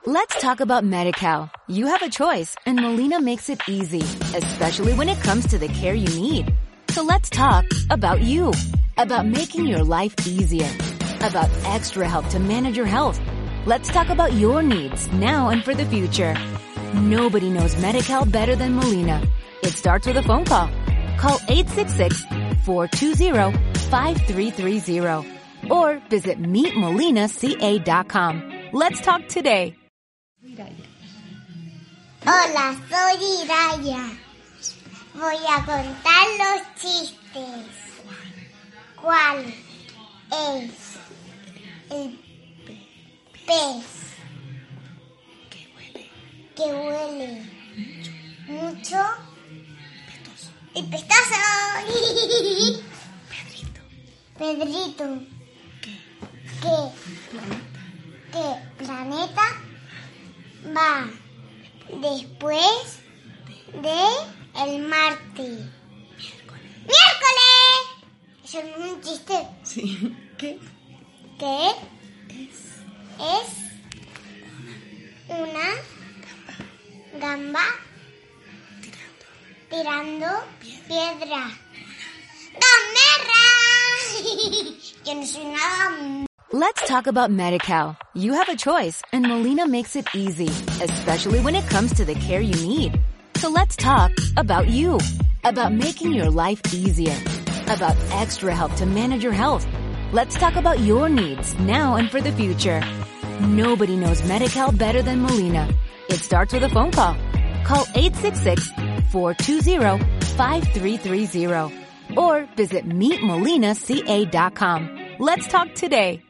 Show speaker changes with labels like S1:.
S1: Let's talk about Medi-Cal. You have a choice, and Molina makes it easy, especially when it comes to the care you need. So let's talk about you, about making your life easier, about extra help to manage your health. Let's talk about your needs now and for the future. Nobody knows Medi-Cal better than Molina. It starts with a phone call. Call 866-420-5330 or visit meetmolinaca.com. Let's talk today.
S2: Hola, soy Iraya. Voy a contar los chistes. ¿Cuál es el pez que huele mucho y pestoso? Pedrito. ¿Qué planeta va después de el Marte? ¡Miércoles! Eso no es un chiste.
S3: Sí. ¿Qué?
S2: ¿Qué? Es una gamba tirando piedra. ¡Gamerra! Yo no soy nada.
S1: Let's talk about Medi-Cal. You have a choice, and Molina makes it easy, especially when it comes to the care you need. So let's talk about you, about making your life easier, about extra help to manage your health. Let's talk about your needs now and for the future. Nobody knows Medi-Cal better than Molina. It starts with a phone call. Call 866-420-5330 or visit meetmolinaca.com. Let's talk today.